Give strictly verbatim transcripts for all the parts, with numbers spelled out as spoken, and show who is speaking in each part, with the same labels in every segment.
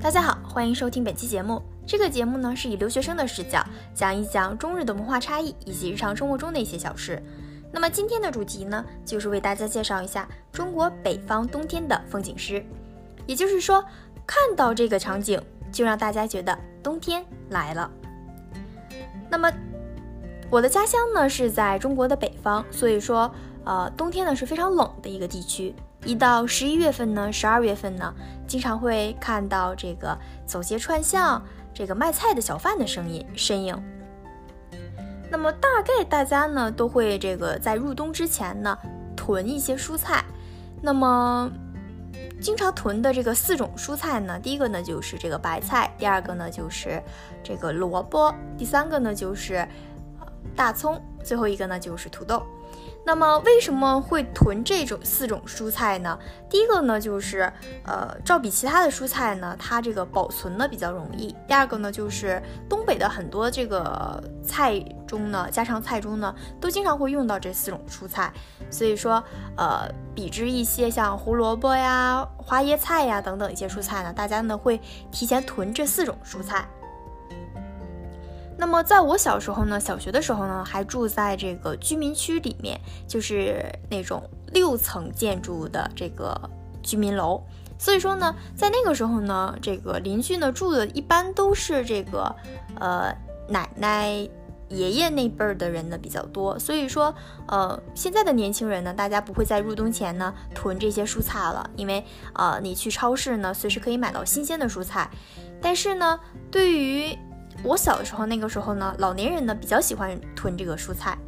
Speaker 1: 大家好，欢迎收听本期节目。这个节目呢是以留学生的视角讲一讲中日的文化差异以及日常生活中的一些小事。那么今天的主题呢，就是为大家介绍一下中国北方冬天的风景诗。也就是说，看到这个场景，就让大家觉得冬天来了。那么我的家乡呢是在中国的北方，所以说呃，冬天呢是非常冷的一个地区。一到十一月份呢，十二月份呢，经常会看到这个走街串巷，这个卖菜的小贩的声音身影。那么大概大家呢都会这个在入冬之前呢囤一些蔬菜。那么经常囤的这个四种蔬菜呢，第一个呢就是这个白菜，第二个呢就是这个萝卜，第三个呢就是大葱，最后一个呢就是土豆。那么为什么会囤这种四种蔬菜呢？第一个呢就是呃，照比其他的蔬菜呢，它这个保存呢比较容易。第二个呢就是东北的很多这个菜中呢，家常菜中呢，都经常会用到这四种蔬菜，所以说呃，比之一些像胡萝卜呀、花椰菜呀等等一些蔬菜呢，大家呢会提前囤这四种蔬菜。那么在我小时候呢，小学的时候呢，还住在这个居民区里面，就是那种六层建筑的这个居民楼。所以说呢，在那个时候呢，这个邻居呢住的一般都是这个呃奶奶、爷爷那辈儿的人呢比较多。所以说呃现在的年轻人呢，大家不会在入冬前呢囤这些蔬菜了，因为呃你去超市呢随时可以买到新鲜的蔬菜。但是呢，对于我小的时候，那个时候呢，老年人呢比较喜欢囤这个蔬菜。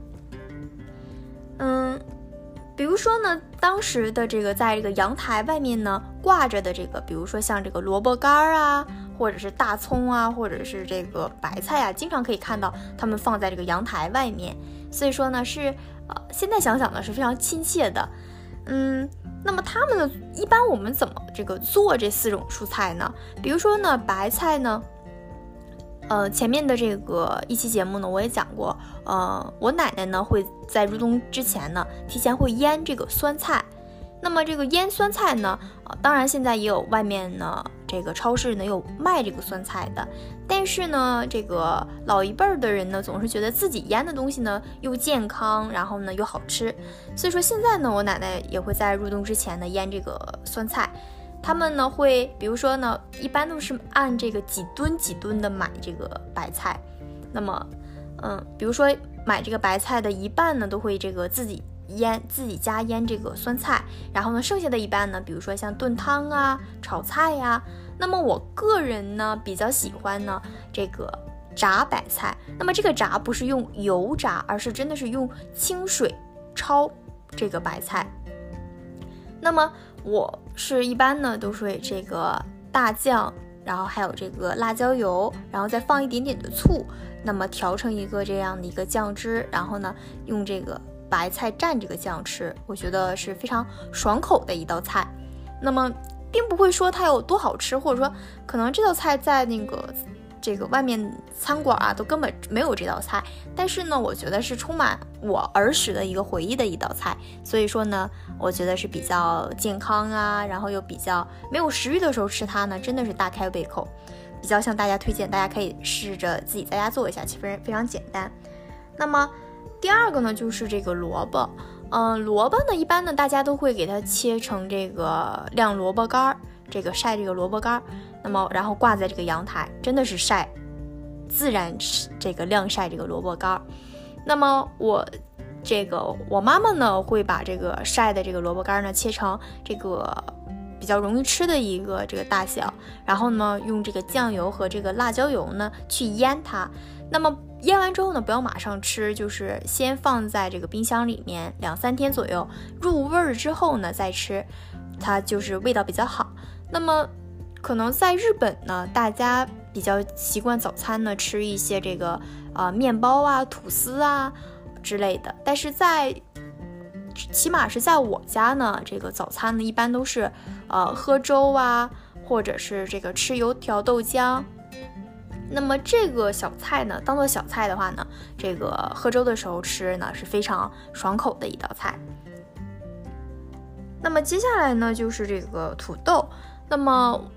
Speaker 1: 嗯，比如说呢，当时的这个在这个阳台外面呢挂着的这个，比如说像这个萝卜干啊，或者是大葱啊，或者是这个白菜啊，经常可以看到他们放在这个阳台外面。所以说呢，是呃，现在想想呢是非常亲切的。嗯，那么他们呢，一般我们怎么这个做这四种蔬菜呢？比如说呢，白菜呢。呃，前面的这个一期节目呢，我也讲过，呃，我奶奶呢会在入冬之前呢，提前会腌这个酸菜。那么这个腌酸菜呢，呃，当然现在也有外面呢，这个超市呢有卖这个酸菜的，但是呢，这个老一辈儿的人呢，总是觉得自己腌的东西呢又健康，然后呢又好吃，所以说现在呢，我奶奶也会在入冬之前呢腌这个酸菜。他们呢会，比如说呢，一般都是按这个几吨几吨的买这个白菜。那么，嗯，比如说买这个白菜的一半呢，都会这个自己腌，自己家腌这个酸菜。然后呢，剩下的一半呢，比如说像炖汤啊、炒菜呀、啊。那么我个人呢比较喜欢呢这个炸白菜。那么这个炸不是用油炸，而是真的是用清水焯这个白菜。那么我是一般呢都是这个大酱，然后还有这个辣椒油，然后再放一点点的醋，那么调成一个这样的一个酱汁，然后呢用这个白菜蘸这个酱吃，我觉得是非常爽口的一道菜。那么并不会说它有多好吃，或者说可能这道菜在那个这个外面餐馆啊都根本没有这道菜，但是呢我觉得是充满我儿时的一个回忆的一道菜，所以说呢我觉得是比较健康啊，然后又比较没有食欲的时候吃它呢真的是大开胃口，比较向大家推荐，大家可以试着自己在家做一下，其实非常简单。那么第二个呢就是这个萝卜，嗯、呃，萝卜呢一般呢大家都会给它切成这个晾萝卜干，这个晒这个萝卜干，那么然后挂在这个阳台，真的是晒，自然这个晾晒这个萝卜干。那么我这个我妈妈呢会把这个晒的这个萝卜干呢切成这个比较容易吃的一个这个大小，然后呢用这个酱油和这个辣椒油呢去腌它。那么腌完之后呢，不要马上吃，就是先放在这个冰箱里面两三天左右，入味儿之后呢再吃，它就是味道比较好。那么可能在日本呢，大家比较习惯早餐呢吃一些这个呃面包啊、吐司啊之类的，但是在起码是在我家呢，这个早餐呢一般都是呃喝粥啊，或者是这个吃油条豆浆。那么这个小菜呢，当做小菜的话呢，这个喝粥的时候吃呢是非常爽口的一道菜。那么接下来呢就是这个土豆。那么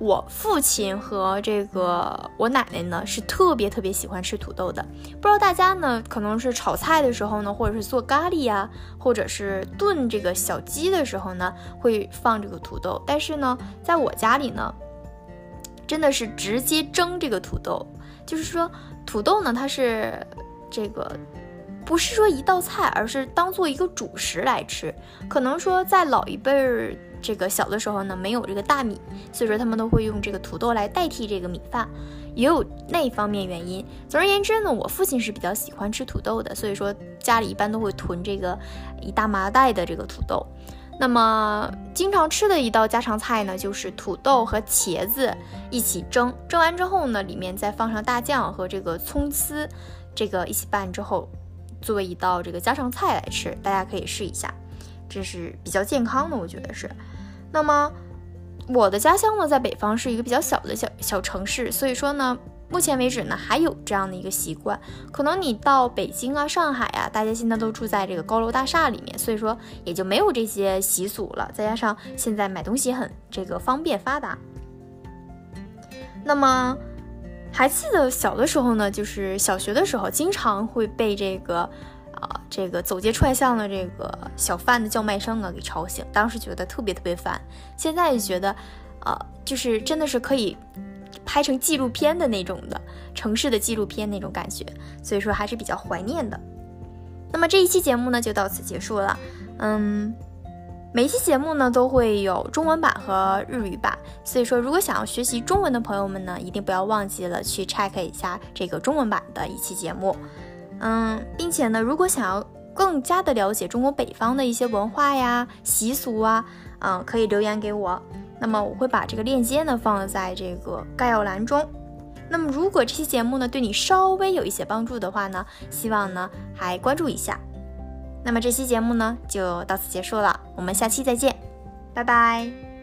Speaker 1: 我父亲和这个我奶奶呢是特别特别喜欢吃土豆的。不知道大家呢可能是炒菜的时候呢，或者是做咖喱呀、啊，或者是炖这个小鸡的时候呢，会放这个土豆。但是呢，在我家里呢，真的是直接蒸这个土豆，就是说土豆呢它是这个不是说一道菜，而是当做一个主食来吃。可能说在老一辈儿这个小的时候呢，没有这个大米，所以说他们都会用这个土豆来代替这个米饭，也有那一方面原因。总而言之呢，我父亲是比较喜欢吃土豆的，所以说家里一般都会囤这个一大麻袋的这个土豆。那么经常吃的一道家常菜呢，就是土豆和茄子一起蒸，蒸完之后呢，里面再放上大酱和这个葱丝，这个一起拌之后，作为一道这个家常菜来吃，大家可以试一下，这是比较健康的，我觉得是。那么我的家乡呢，在北方是一个比较小的小小城市，所以说呢，目前为止呢，还有这样的一个习惯。可能你到北京啊、上海啊，大家现在都住在这个高楼大厦里面，所以说也就没有这些习俗了。再加上现在买东西很这个方便发达。那么还记得小的时候呢，就是小学的时候，经常会被这个啊、呃、这个走街串巷的这个小贩的叫卖声啊给吵醒，当时觉得特别特别烦。现在就觉得，呃，就是真的是可以拍成纪录片的那种的城市的纪录片那种感觉，所以说还是比较怀念的。那么这一期节目呢就到此结束了。嗯，每一期节目呢都会有中文版和日语版，所以说如果想要学习中文的朋友们呢，一定不要忘记了去 check 一下这个中文版的一期节目。嗯，并且呢，如果想要更加的了解中国北方的一些文化呀、习俗啊，嗯，可以留言给我。那么我会把这个链接呢放在这个概要栏中。那么如果这期节目呢对你稍微有一些帮助的话呢，希望呢还关注一下。那么这期节目呢就到此结束了，我们下期再见，拜拜。